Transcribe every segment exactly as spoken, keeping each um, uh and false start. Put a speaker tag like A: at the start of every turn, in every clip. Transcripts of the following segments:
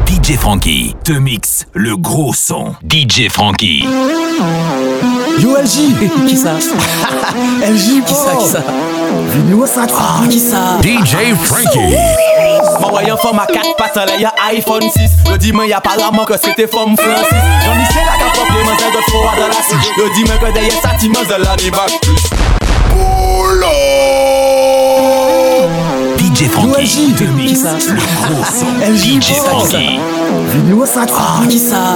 A: D J Frankie te mixe le gros son. D J Frankie.
B: Yo L J.
C: Qui ça?
B: L J
C: Qui ça? Qui ça?
B: Venu au sac.
C: Ah, qui ça?
A: D J Frankie.
D: Mon voyant forme à quatre pattes, là y'a iPhone six. Le dimanche y'a apparemment que c'était forme Francis. Jean-Michel a qu'à propre les mains de froid dans la suite. Le dimanche que derrière ça, tu manges de l'année bac plus.
A: D J Frankie te mixe le gros son.
B: L J
A: D J Frankie.
B: Venu au sac.
C: Ah, qui ça?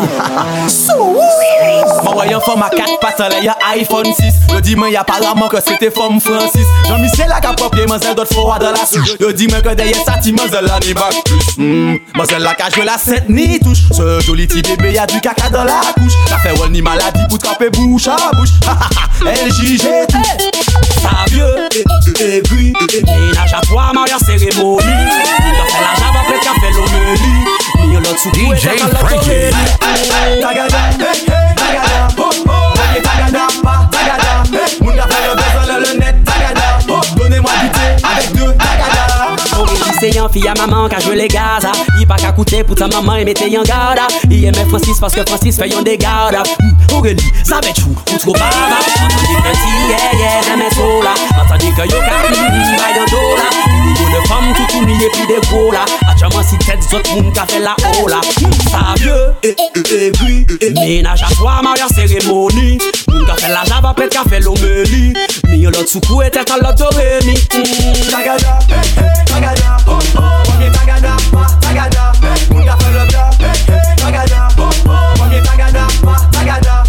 D: Mon voyant forme à quatre pattes, là y'a iPhone six. Le dimanche y'a apparemment que c'était forme Francis. Jean-Michel a qu'à propre les mains de froid dans la suite. Le dimanche que derrière ça, tu manges de l'année bac plus. Hum, moi c'est là qu'a joué la scène ni touche. Ce joli petit bébé y'a du caca dans la couche. Ça fait one ni maladie pour tremper bouche à bouche. L J G T.
C: Ça vieux, aiguille, ménage à toi, mariage cérémonie. T'as fait la java, peut-être qu'à fait l'homélie. Mis l'autre sous
A: D J Frankie.
D: Tagada, hey, hey, tagada, oh, oh. Voyez tagada, pas tagada. Hey, moun ka fait le besoin le net, tagada. Oh, donnez-moi du thé avec deux tagada.
C: Aurélie c'est un fille à maman qui a joué les gaz. Il pas qu'à coûter pour ta maman et mettez en garde. Il aimait Francis parce que Francis fait un dégât. Aurélie, ça va être chou, ou trop baba. Entendez que si, yeah, yeah, j'aimais so là. Entendez que yo ka, hum, bail en dos là. Niveau de femme, tout tout n'y est plus de gros là. Actuellement si tête d'autres moun ka fait la haut là. Ça vieux, aiguille, ménage à toi, mariage cérémonie. Moun ka fait la java, peut-être qu'à fait l'homélie. Mais yon l'autre sous et tête à l'autre rémi.
D: Tagada, hey, hey, tagada, oh, oh. Voyez tagada, pas tagada. Moun ka fait le bla, hey, hey, tagada, oh, oh. Voyez tagada, pas tagada.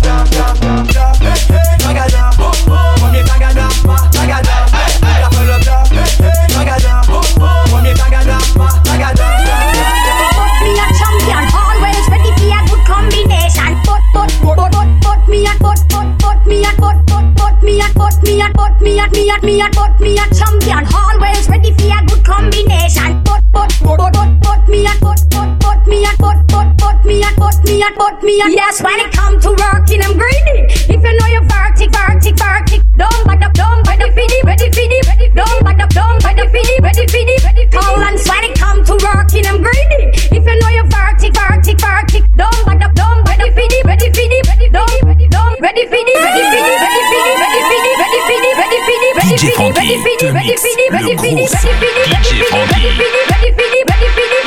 D: Tagada, oh, oh. Voyez tagada, pas tagada. Moun ka fait le bla, hey, hey, tagada, oh, oh. Voyez tagada, pas tagada.
E: Put me a champion, always ready for a good combination. Put, put, put, put, put me a, put, put, put me a, put, put, put me a, put me a, put me a, me a, me a, put me a champion, always ready for a good combination. Put, put, put, put, put me a, put, put, put me a, put, put, put me a, put me a, put me a. Yes, when it come to working, I'm greedy. If you know you're vertic, vertic, vertic, don't bad up, don't ready for the, ready for the, ready, don't bad up, don't ready for the, ready for the, ready. Collins, when it come to working, I'm greedy. If you know you're vertic, vertic, vertic, don't bad up, don't ready for the, ready for the, ready, don't, don't ready for the, ready for the, ready for the, ready for the, ready for the, ready for the, ready
A: D J
E: for the,
A: Frankie te mixe le gros son. D J Frankie.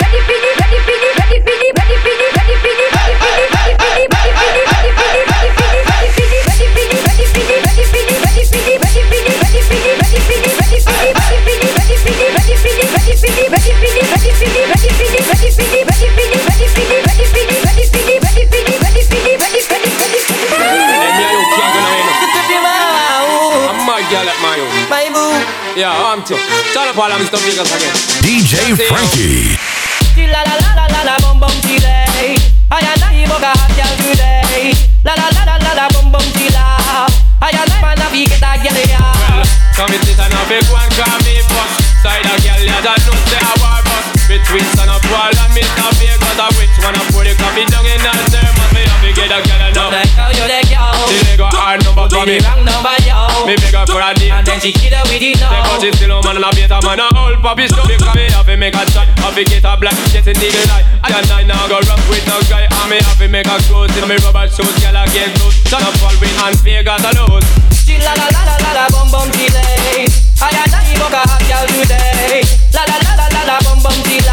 F: Yeah, I'm too. Shut up, all I'm Mister Vegas again.
A: D J Frankie.
G: La la la la la la bum bum chile. I and I boga hot girl today. La la la la la la bum bum chila. I and I man a big get a girl ya.
F: Well, come it is a big one, call me boss. Side a girl ya that know say a war boss. Between son of Paul and Mister Vegas, a which one a pour the coffee down in that sermon. Me have to get a girl now.
G: The girl you the girl.
F: She dey go hard number for me.
G: Wrong number yo.
F: Me beg her for a date.
G: And then she hit her with it now.
F: Because she still a man and a better man a old puppy stuff. Because me have to make a shot. Have to get a black jet in the eye. I and I now go rock with no guy. And me have to make a clothes in me rubber shoes. Girl again close. Son of Paul with and Vegas a lose.
G: She la la la la la la bum bum chile. I and I boga hot girl today. La la la la la la bum bum chila.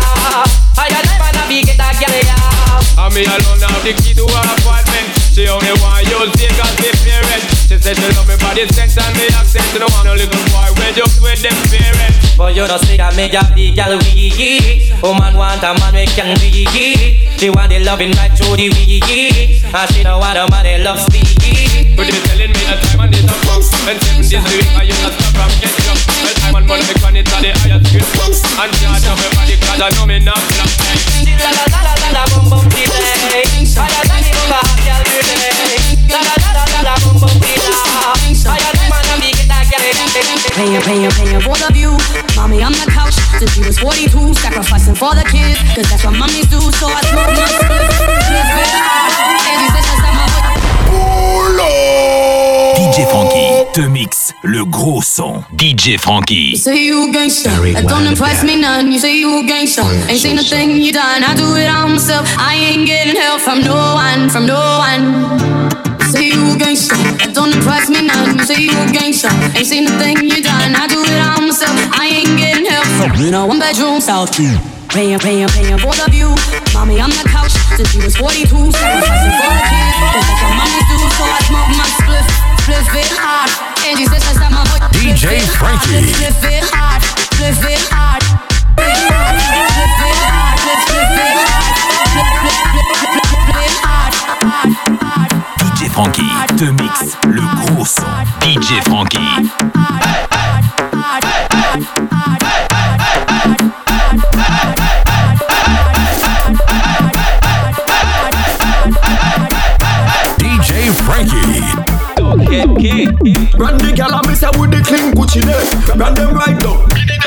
G: I and I man a big get a girl ya.
F: And me alone have the key to her apartment. She only want use Vegas the parent. She said she love me body sense and me accent. She don't want no little boy when just with them parents.
G: But you just think I make a big girl weak. Woman want a man we can be. She want the loving right through the week. And she don't want a man that loves speed.
F: But you telling me that time and it's a pump. And seven days a week I use a stop from getting up. Well time and money because it's at the highest skill. And charge of everybody cause I know me not flop.
G: La la la la la la bum bum delay. I got a little hot girl today. La la la la la la bum bum delay. I got a man and big get a girl.
H: Paying, paying, paying both of you. Mommy on the couch since she was forty-two, sacrificing for the kids, cause that's what mommies do. So I smoke my split.
A: D J Frankie te mixe le gros son. D J Frankie.
H: You say you gangsta, that don't impress me none. You say you gangsta, ain't seen a thing you done. I do it on myself. I ain't getting help from no one, from no one. Say you a gangster, that don't impress me none. Say you a gangster, ain't seen the thing you done. I do it on myself, I ain't getting help from you know one bedroom South. Paying, paying, paying both of you. Mommy on the couch since she was forty-two, sacrificing for the kids. Cause that's what mommy do, so I smoke my spliff, spliff it hard. And she says that's how my boy
A: D J Frankie.
H: Spliff it hard, spliff it hard, spliff it hard, spliff it hard, spliff it hard, spliff it hard, hard.
A: D J Frankie te mixe le gros son. D J Frankie. D J Frankie.
I: Brand the gal and me say with the clean Gucci day. Brand them right down.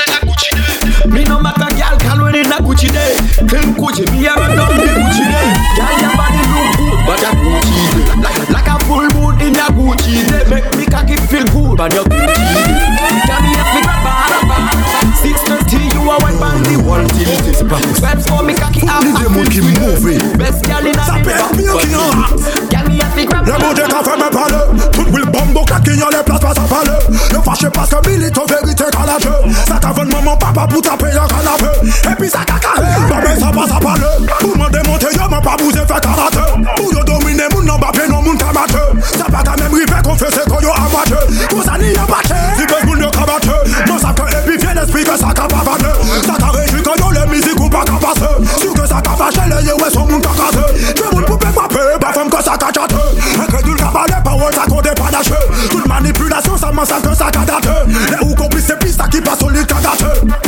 I: Me no matter gal can when in a Gucci day. Clean Gucci, me a run down the Gucci day. Gal your body look good, but a Gucci day. Like, like a full moon in a Gucci day. Make me cocky feel good, but your Gucci day. Gal me a figure bar, six thirty you a white band the whole till it is back. Vibes for me cocky up.
B: D J Monkey moving.
I: Best gal in a
B: Ça peut être mieux qu'il y en a.
I: Gal me a figure
B: Le monde est qu'à faire me parler. Tout le bombo claqué, y'a les places, pas à parler. Le fâché parce que milite en vérité qu'à la jeu. Ça t'avonne maman, papa pour taper un canapé. Et puis ça caca. Bah mais ça passe à parler. Tout le monde est monté, y'a m'a pas bousé fait karaté. Pour y'a dominer, moun nan bappé, non moun kamate. Ça pas ta même rivé qu'on fait c'est qu'on y'a amateur. Pour ça n'y y'a batte. Si ben moun y'a kabate. Non ça que et puis vient l'esprit que ça capabate. Ça t'a réjoui que y'a les musiques ou pas capace. Sûr que ça capache, les yeux ouais son moun kakase. Tu moun poupé m'appé, bah femme que ça cachate. Incrédule cabaret, parole ça compte pas d'achet. Toute manipulation ça m'en sent que ça cadate. Les ou complices c'est piste qui passe au lit cadate.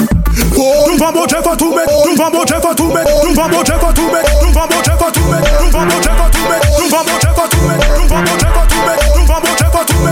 B: Nous vends mon chef à tout mec, nous vends mon chef à tout mec, nous vends mon chef à tout mec, nous vends mon chef à tout mec, nous vends mon chef à tout mec, nous vends mon chef à tout mec, nous vends mon chef à tout mec, nous vends mon chef à tout mec.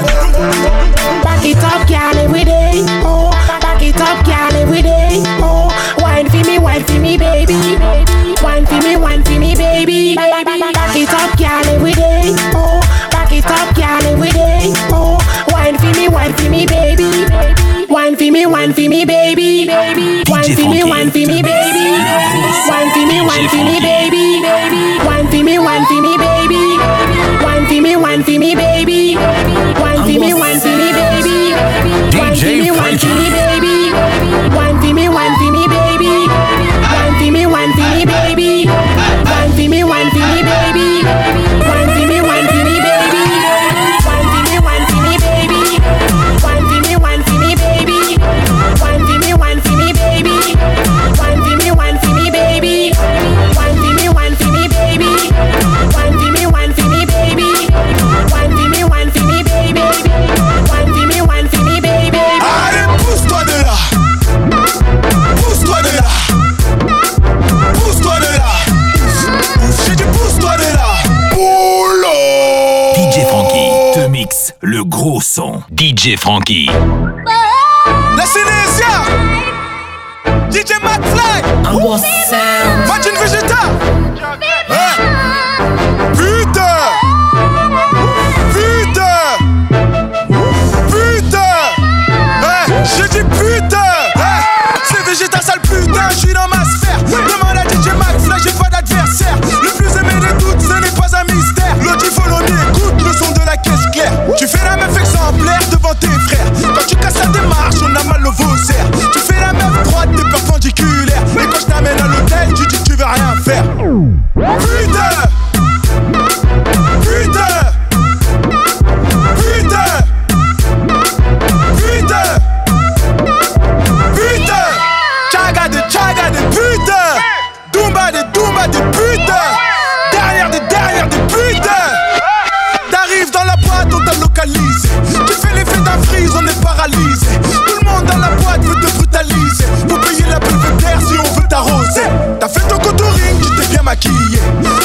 J: Back it up, girl, every day. Oh, back it up, girl, every day. Oh, wine for me, wine for me, baby. Wine for me, wine for me, baby. Back it up, girl, every day. Oh, back it up, girl, every day. Oh, wine for me, wine for me, baby. Wine for me, wine for me, baby. Wine for me, wine for me, baby. Wine for me, wine for me, baby. Wine for me, wine for me, baby. Wine for me, wine for me, baby. Wine for me, wine for me, baby. Wine for me, wine for me, baby. Wine for me, wine for me, baby. Wine for me, wine for me, baby. Wine for me, wine for me, baby. Wine for me, wine for me, baby. Wine for me, wine for me, baby. Wine for me, wine for me, baby. Wine for me, wine for me, baby. Wine for me, wine for me, baby. Wine for me, wine for me, baby. Wine for me, wine for me, baby. Wine for me, wine for me, baby. Wine for me, wine for me, baby.
B: Allez, pousse-toi de là. Pousse-toi de là. Pousse-toi de là. J'ai dit pousse-toi de là. Boulot.
A: D J Frankie te mixe le gros son. D J Frankie.
I: La Sénésia, D J McFly, Martin Vegeta. Hein? Putain, putain, putain. Hein? J'ai dit putain. Hein? C'est Vegeta sale putain, je suis dans ma sphère. Demande à D J McFly, j'ai pas d'adversaire. Le plus aimé de toutes, ce n'est pas un mystère. L'audi follow me, écoute le son de la caisse claire. Tu fais la meuf exemplaire devant tes frères. Quand tu casses la démarche, on a mal au vaussaire. Tu fais la meuf droite, t'es perpendiculaire. Et quand je t'amène à l'hôtel, tu dis que tu veux rien faire. Putain, putain, putain, putain, putain. Chaga de chaga de putain. Dumba de dumba de putain. Derrière des derrière des putains. T'arrives dans la boîte, on t'a localisé. Tu fais l'effet d'un freeze, on est paralysé. Tout le monde dans la boîte veut te brutaliser. Faut payer la belvédère si on veut t'arroser. T'as fait ton contouring, tu t'es bien maquillé.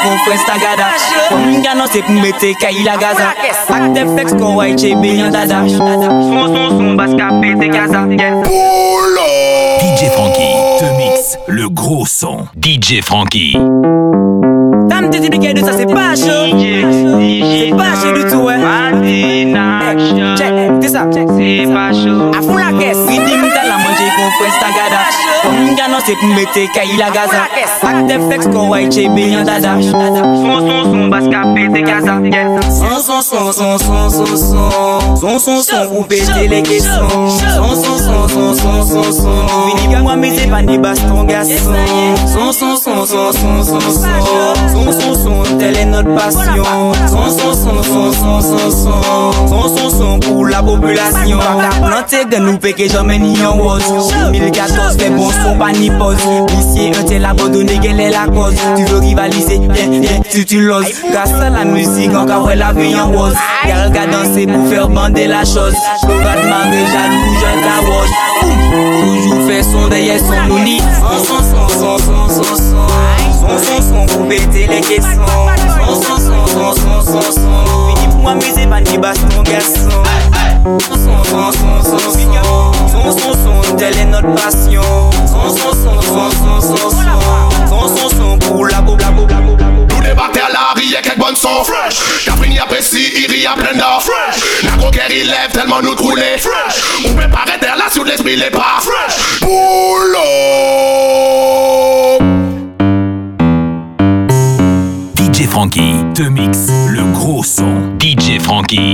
G: qu'on fait Stagada. Comme gagnant c'est pour mettre Kaï la Gaza. Acte flex qu'on va être bien dada. Son son son basse capé t'es Gaza.
A: D J Frankie te mixe le gros son. D J Frankie.
G: T'as me dit de ça c'est pas chaud. C'est pas chaud du tout ouais. Check, c'est ça. C'est pas chaud. À fond la caisse. Redeem t'as la manger qu'on fait Stagada. Comme gagnant c'est pour mettre Kaï la Gaza. Acte flex qu'on va être bien dada. Son son son basse capé t'es Gaza. Son son son son son son son. Son son son pour péter les caissons. Son son son son son son son. Vini moi mais c'est pas des bastons garçons. Son son son son son son son. Son son son telle est notre passion. Son son son son son son son. Son son son pour la population. Planté de nous péquer jamais ni en rose. deux mille quatorze fait bon son pas ni pause. Ici un tel abandonné quelle est la cause. Tu veux rivaliser, bien bien tu tu l'oses. Grâce à la musique encore ouais la vie en rose. Y'a le gars danser pour faire bander la chose. Le gars de marée jaloux je t'arrose. Toujours fait son derrière son louni. Son son son son son son son. Son son son pour péter les caissons. Son son son son son son son. Fini pour m'amuser pas ni baston garçon. Son son son son son son. Son son son telle est notre passion. Son son son son son son son. Son son son pour la boue la boue la boue.
K: Nous débattons à la rue avec bonne son fresh. Caprini apprécie, il rit à plein d'or fresh. La coquère il lève tellement nous trouler fresh. On peut pas arrêter là sur l'esprit les pas fresh. Boulot.
A: D J Frankie te mixe le gros son. D J Frankie.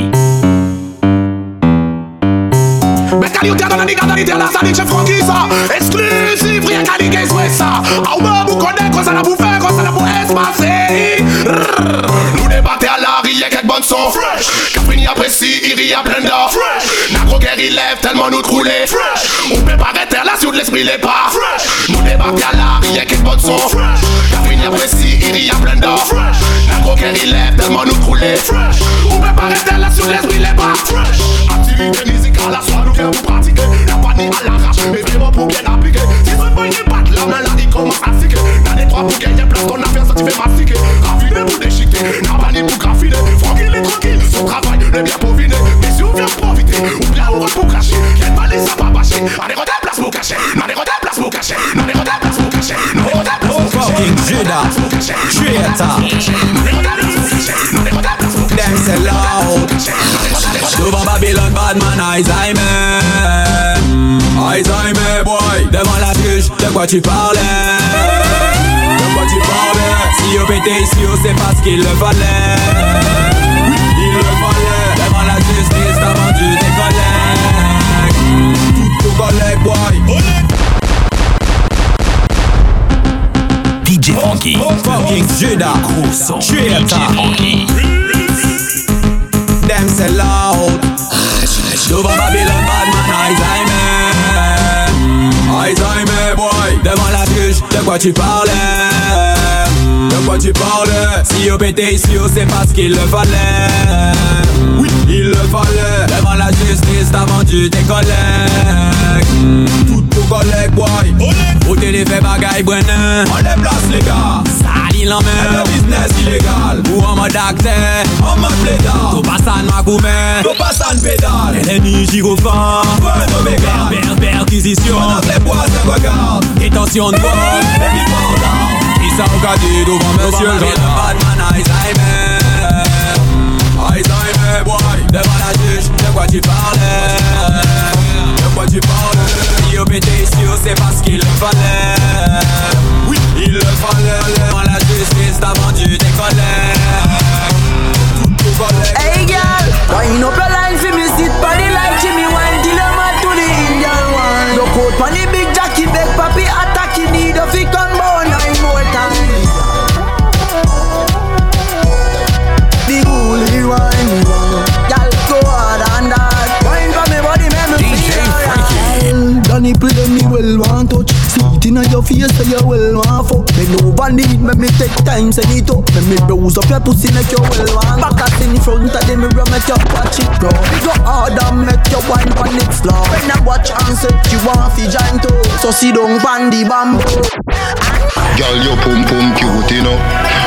K: Mais qualité dans la négalité là, ça D J Frankie ça. Exclusif, rien qu'à dire qu'est-ce que ça. Ah ouais, vous connaissez quoi ça l'a pour faire, quoi ça l'a pour espacer. Nous débattons à la rue avec bonne son fresh. Caprini apprécie, il rit à plein d'or fresh. La coquère il lève tellement nous trouler fresh. On peut pas arrêter là sur l'esprit les pas fresh. Nous débattons à la rue avec bonne son fresh. Caprini apprécie, il rit à plein d'or fresh. La coquère il lève tellement nous trouler fresh. On peut pas arrêter là sur l'esprit les pas fresh. Activité musicale à soi nous vient pour pratiquer. La panique à l'arrache, mais vraiment pour bien appliquer. Si ce boy n'est pas de la main là, il commence à siquer. Dans les trois pour gagner place, ton affaire ça tu fais mastiquer. Raffiner pour déchiqueter, la panique pour graffiner. Franck il est tranquille, son travail est bien peaufiné. Mais si on vient profiter, ou bien on va pour cacher. Y'a pas les sapes à bâcher, on est retard place pour cacher. On est retard place pour cacher, on est retard place pour cacher. On est retard place pour cacher.
D: Fucking Judah, traitor. Them say loud. Devant Babylone, Badman, Alzheimer. Alzheimer, boy. Devant la juge, de quoi tu parlais? De quoi tu parlais? Si on pétait ici, on sait pas ce qu'il le fallait. Il le fallait. Devant la justice, t'as vendu tes collègues. Toutes tes collègues, boy.
A: D J Frankie.
D: Fucking Judah,
A: gros son. D J Frankie.
D: Them say loud. Devant Babylone, Badman, Alzheimer. Alzheimer, boy. Devant la juge, de quoi tu parlais? De quoi tu parlais? Si on pétait ici, on sait pas ce qu'il le fallait. Oui, il le fallait. Devant la justice, t'as vendu tes collègues. Toutes tes collègues, boy. Au télé fait bagaille, Brennan. On les place, les gars. Sali l'emmène. Le business illégal. Ou en mode acteur, en mode plaidard. Tout passe à ma gourmet. Tout passe à pédale. Ennemi gyrophare. Point d'oméga. Per perquisition. On a les poids, ça regarde. Détention de vote. Et puis pendant. Qui ça au cadet devant monsieur le gendarme. Batman, Alzheimer. Alzheimer, boy. Devant la juge, de quoi tu parlais? De quoi tu parlais? Si on pétait ici, on sait pas ce qu'il le fallait. Oui, il le fallait. Devant la justice, t'as vendu tes collègues. Toutes tes collègues.
L: Hey girl, wind up your line for me, sit body like Jimmy Wine. Till I'm out to the Indian one. Look out for the big Jackie, beg papi attack. You need a fick on bone nine more times. The holy wine, girl go hard and hard. Wine for me body, make me feel alright. Danny play me well want touch. See it inna your face so you well want fuck. Bend over need me me take time send it up. Me me bruise up your pussy make you well want. Back at in front of the mirror make you watch it bro. Go hard and make you wine pon it slow. When I watch and say you want fi join too. So sit down pon the bamboo.
M: Girl, your pum pum cute, you know.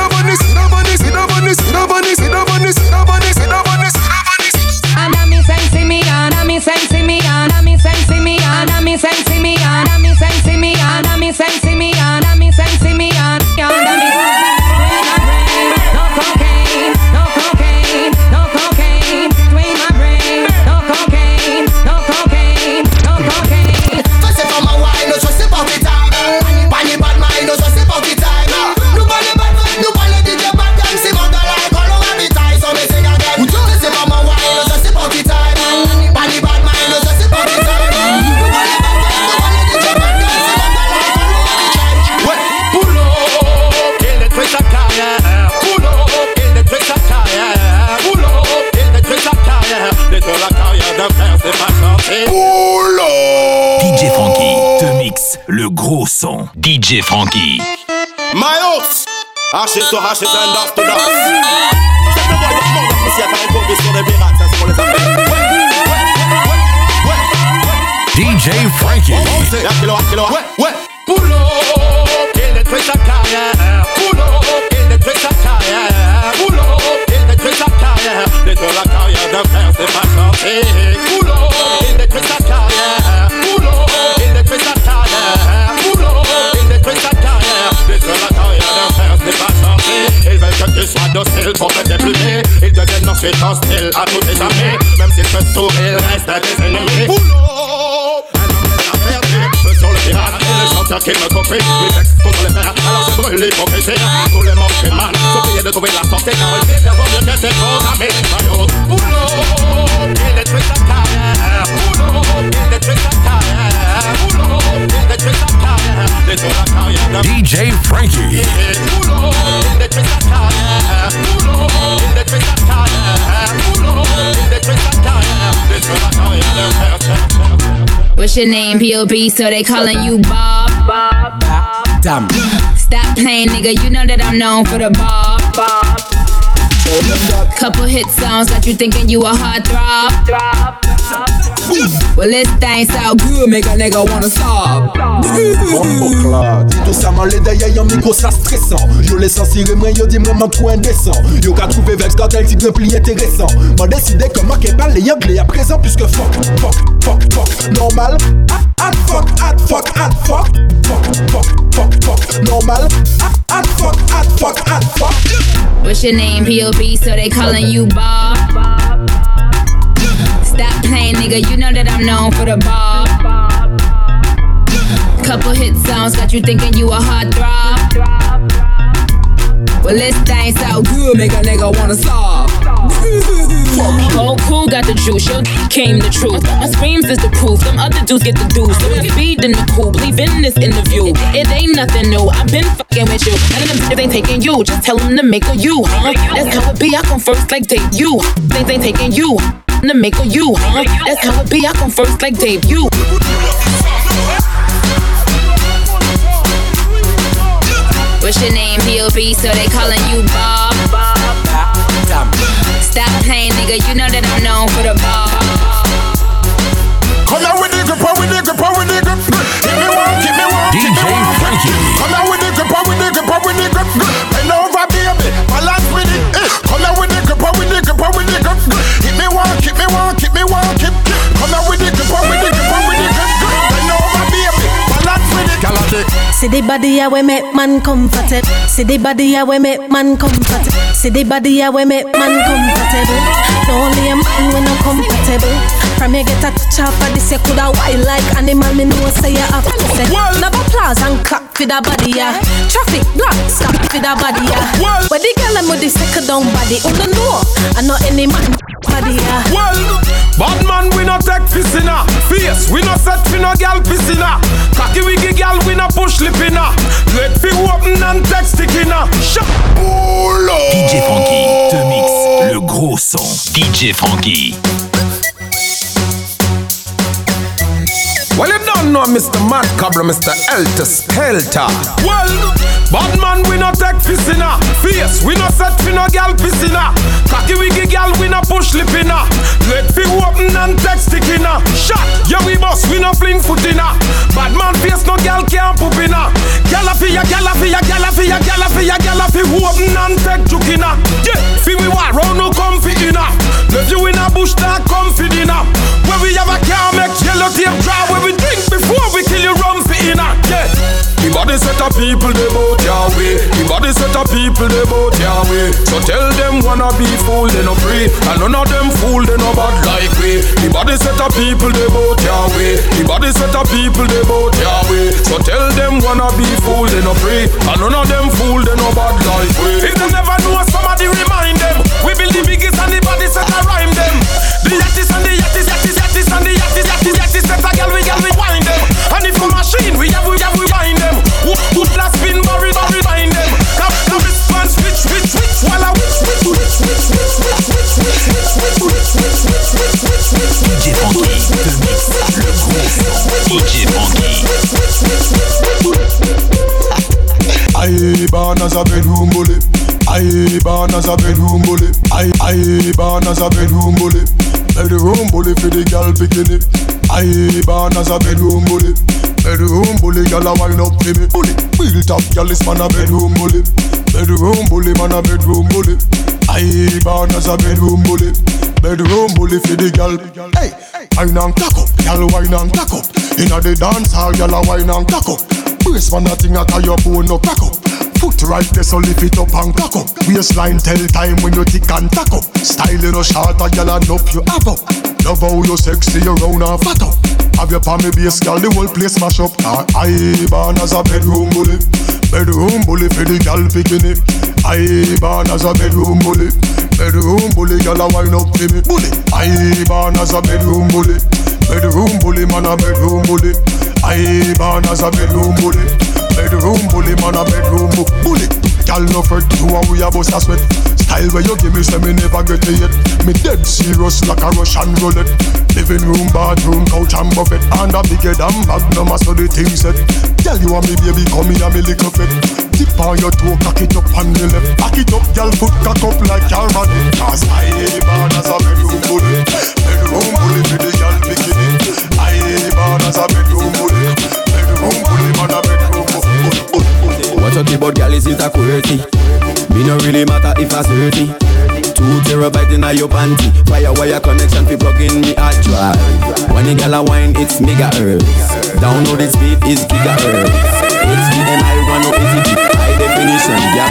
K: the bunny, see the bunny, see the bunny, see the bunny, see the bunny, see the bunny, see the bunny, see the bunny.
N: Ana mi sensi mi, ana mi sensi mi, ana mi sensi mi, ana mi sensi mi, ana mi sensi mi, ana mi sensi mi, ana mi sensi mi, ana mi. No cocaine, no cocaine, no cocaine, between my brain. No cocaine, no cocaine, no cocaine.
O: Ça c'est pas ma wine, ça c'est pas tes time. Pas ni bad mind, ça c'est pas tes time. Nous pas les bad vibes, nous pas les D J bad gang. C'est mon dans l'alcool, on va bitaille, ça mais c'est gagne. Ça c'est pas ma wine, ça c'est pas tes time. Pas ni bad mind, ça c'est pas tes time. Nous pas les bad vibes, nous pas les D J bad gang. C'est mon dans l'alcool, on va bitaille.
K: Ouais, boulot, il détruit sa carrière. Boulot, il détruit sa carrière. Boulot, il détruit sa carrière. Détruire la carrière d'un frère, c'est pas chanter.
A: D J Frankie te mixe le gros son. D J Frankie.
K: My house, haché sur haché, un dance to dance. C'est le boy de monde, parce qu'il y a pas encore sur des pirates, ça c'est pour les affaires.
A: D J Frankie.
K: Ouais, ouais, ouais. Boulot, il détruit sa carrière. Boulot, il détruit sa carrière. Boulot, il détruit sa carrière. Détruire la carrière d'un frère, c'est pas chanter. Boulot, il détruit sa carrière. Boulot, il détruit sa carrière. Boulot, il détruit sa carrière. Détruire la carrière d'un frère, c'est pas chanter. Ils veulent que tu sois docile. style pour te déplumer. Ils deviennent ensuite hostiles à tout et jamais. Même s'ils peuvent sourire, restent des ennemis. Boulot! Feu sur le pirate, et les chanteurs qui me copient. Mes textes contre les pirates, alors je brûle l'hypocrisie. Tous les manques et mal, sont payés de trouver la sortie. Car une vie vaut mieux que ses programmés. Boulot, il détruit sa carrière. Boulot, il détruit sa carrière. Boulot, il détruit sa carrière. Détruit la carrière de
A: D J Frankie.
K: Boulot, il détruit sa carrière. Boulot, il détruit sa carrière. Boulot, il détruit sa carrière. Détruit la carrière de
H: What's your name, P O B? So they calling you Bob. Bob. Bob.
C: Damn.
H: Stop playing, nigga. You know that I'm known for the Bob. Bob. Couple hit songs got you thinking you a hard throb. Throb. Well, this thing so good, make a nigga wanna stop.
P: Tout ça m'a l'aidé, y'a un micro, ça stressant. Yo les censuré, moi yo dit moi mon point indécent. Yo qu'a trouvé Vex quand elle dit le pli intéressant. M'a décidé que moi qu'est pas les anglais à présent puisque fuck, fuck, fuck, fuck, normal. Add fuck, add fuck, add fuck, fuck, fuck, fuck, fuck, normal. Add fuck, add fuck, add fuck.
H: What's your name, P O B? So they calling you Bob. Stop playing, nigga. You know that I'm known for the Bob. Couple hit songs got you thinking you a hard throb. Well, this thing so good, make a nigga wanna stop.
Q: Oh, cool, got the juice, yo, came the truth. My screams is the proof, them other dudes get the dues. So we speed in the cool, believe in this interview. It ain't nothing new, I've been fucking with you. None of them shit ain't taking you, just tell them to make a you, huh? That's how it be, I come first like Dave, you. Things ain't taking you, to make a you, huh? That's how it be, I come first like Dave, you.
H: What's your name, P O B? So they calling you Bob. Stop playing, nigga. You know that I'm known for the Bob.
K: Come out with the grip, with the grip, with the grip. Give me one, give me one,
A: D J Frankie.
K: Come out with the grip, with the grip, with the grip. Bend over, baby, balance with it. Come out with the grip, with the grip, with the grip. Give me one, keep me one, keep me one, keep. Come out with the grip, with the grip, with the grip. Bend over, baby, balance with it.
R: See the body ya we make man comfortable. See the body ya we make man comfortable. See the body ya we make man comfortable. No only a man when I'm compatible. From you get a touch off of this you coulda wild like animal. Me know say you have to say. Never applause and clap for the body ya. Traffic block stop for the body ya. Where the girl them with the second down body. Who don't know? I know any man body ya.
I: Well, bad man we no take piscina. Face we no set for no gal piscina. Cocky wiggy gal we no push lipina. Let fi open and text stickinna. Shut
A: D J Frankie te mixe le gros son. D J Frankie.
I: Well, you don't know Mister Mad Cobra, Mister Elter Skelter. Well, bad man we no take piscina. Face we no set for no gal piscina. Cocky wiggy gal we no push lipina. Let fi open and text stickinna. Shot, yeah we boss we no fling footina. Bad man face no gal can't poop inna. Gala fi ya, gala fi ya, gala fi ya, gala fi ya, gala fi open and take jukina. Yeah, fi we war round no comfy inna. Love you in a bush that comfy dinner. Where we have a car make yellow tape dry. Where we drink before we kill you rum for inna. Yeah. The body set of people they bout your way. The body set of people they bout your way. So tell them wanna be fool they no free. And none of them fool they no bad like we. The body set of people they bout your way. The body set of people they bout your way. So tell them wanna be fool they no free. And none of them fool they no bad like we. If they never know somebody remind them. We build the biggest and the body set a rhyme them. The yattis and the yattis, yattis, yattis and the yattis, yattis, yattis set a gal we gal we wind them. And if a machine we have we have we wind them. Who who last spin barry barry bind them. Now now response switch switch switch while I switch switch switch switch switch switch switch switch switch switch switch switch switch switch switch.
A: D J Frankie te mixe le gros son. D J Frankie.
P: I born as a bedroom bully. I born as a bedroom bully. I I born as a bedroom bully. Bedroom bully for the girl bikini. I born as a bedroom bully. Bedroom bully, gyal a wine up for me. Bully, built up, gyal is man a bedroom bully. Bedroom bully, man a bedroom bully. I born as a bedroom bully. Bedroom bully for the gyal. Hey, wine and cock up, gyal wine and cock up. Inna the dance hall, gyal a wine and cock up. Brace man a thing a tie your bone no crack up. Foot right there, so lift it up and cock up. Waistline tell time when you tick and tack up. Style in a short, a girl and up you have up. Love how you sexy, you round and fat up. Have your palm base, girl, the whole place mash up. I born as a bedroom bully. Bedroom bully for the girl picking it. I born as a bedroom bully. Bedroom bully, girl a wine up to me. Bully. I born as a bedroom bully. Bedroom bully, man a bedroom bully. I born as a bedroom bully. Bedroom bully, man a bedroom bully. Girl no fret, two and we a bust a sweat. Style where you give me, say me never get it yet. Me dead serious like a Russian roulette. Living room, bathroom, couch and buffet. And a bigger than Magnum, so the thing set. Tell you and me baby, come here, me little pet. Tip on your toe, cock it up on the left. Back it up, girl, foot cock up like your rat. Cause I born as a bedroom bully. Bedroom bully for the girl bikini. I born as a bedroom bully. Bedroom bully, man a bedroom bully.
S: What you think about girl, is it a quirky? Me no really matter if I thirty. Two terabyte in your panty. Fire wire connection fi plug in me hard drive. When the girl a wine, it's megahertz. Download the speed is gigahertz. H D M I one oh eighty p high definition, yeah.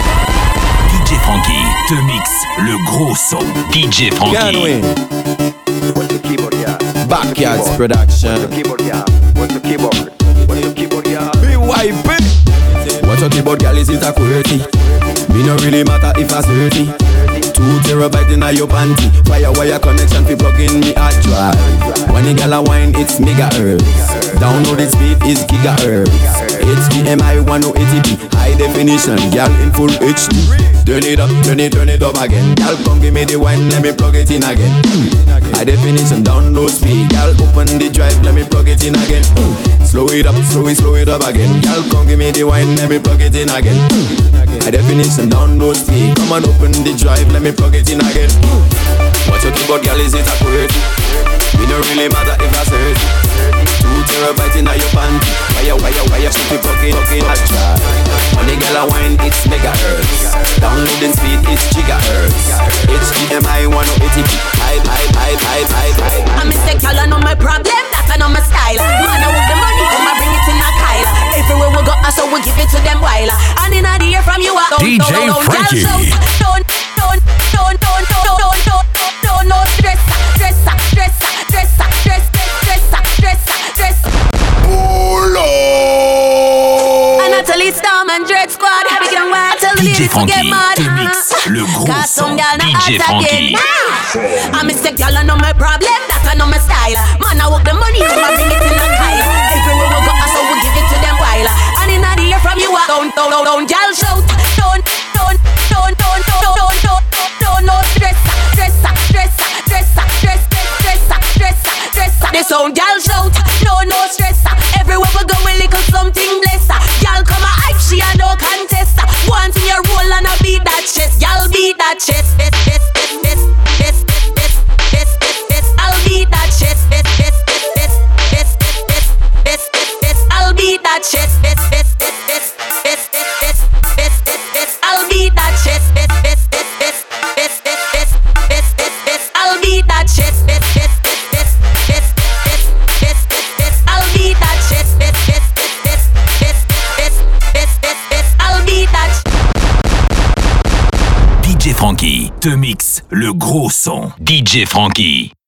A: D J Frankie te mixe le gros son. D J Frankie.
S: What's the keyboard, yeah? Backyards production.
T: What's the keyboard, yeah? What's the keyboard? What's the keyboard, yeah?
S: Be wiping. What you think about girl, is it a quirky? Me no really matter if I thirty. Two terabyte in your panty. Fire wire connection fi plug in me hard drive. When the girl a wine, it's megahertz. Download the speed is gigahertz. H D M I one oh eighty p high definition, girl in full H D. Turn it up, turn it, turn it up again. Girl come give me the wine, let me plug it in again. High definition, download speed. Girl open the drive, let me plug it in again. Slow it up, slow it, slow it up again. Girl come give me the wine, let me plug it in again. High definition, download speed. Come on open the drive, let me plug it in again. What you think about girl, is it a quirky? We don't really matter if I say it. Two terabyte in your panty. Wire, wire, wire, shoot it, plug in, plug in, hot drive. When the girl a wine, it's megahertz. Downloading speed, it's gigahertz. H D M I one oh eighty p high, high, high, high, high, high.
U: I'm a sick, y'all know my problem, that's I know my style. Man, I want the money, come and bring it in a Kyle. Everywhere we go, so we give it to them while. And in the ear from you, I don't,
A: D J
U: don't, don't,
A: Frankie.
U: Don't, don't, don't, don't, don't, don't, don't, don't, don't, no stress, stress, stress, stress, stress, stress, stress, stress. And I tell it Storm and Dread Squad, I begin where I tell the ladies to get mad.
A: Le gros son, D J Frankie.
U: I'm a sick, y'all know my problem, that's I know my style. Man, I walk the money, come and bring it in a Kyle. Everywhere we go, so we give it to them while. And in the ear from you, I don't, don't, don't, don't, y'all shout. Don't, don't, don't, don't, don't, don't, don't, don't, no stress, stress, stress, stress, stress, stress, stress, stress. The sound, y'all shout. No, no stress. Everywhere we go, we little something bless. Y'all come a hype, she a no contest. One thing you roll and I beat that chest. Y'all beat that chest. This, this, this, this, this, this, this, this. I'll beat that chest. This, this, this, this, this, this, this, this. I'll beat that chest. This, this, this, this, this, this, this, this, this. I'll beat that chest. This, this, this, this, this, this, this, this, this, this. I'll beat that chest. This, this, this, this, this, this, this, this. I'll beat that chest. This, this, this, this, this, this, this, this. I'll beat that.
A: D J Frankie te mixe le gros son. D J Frankie.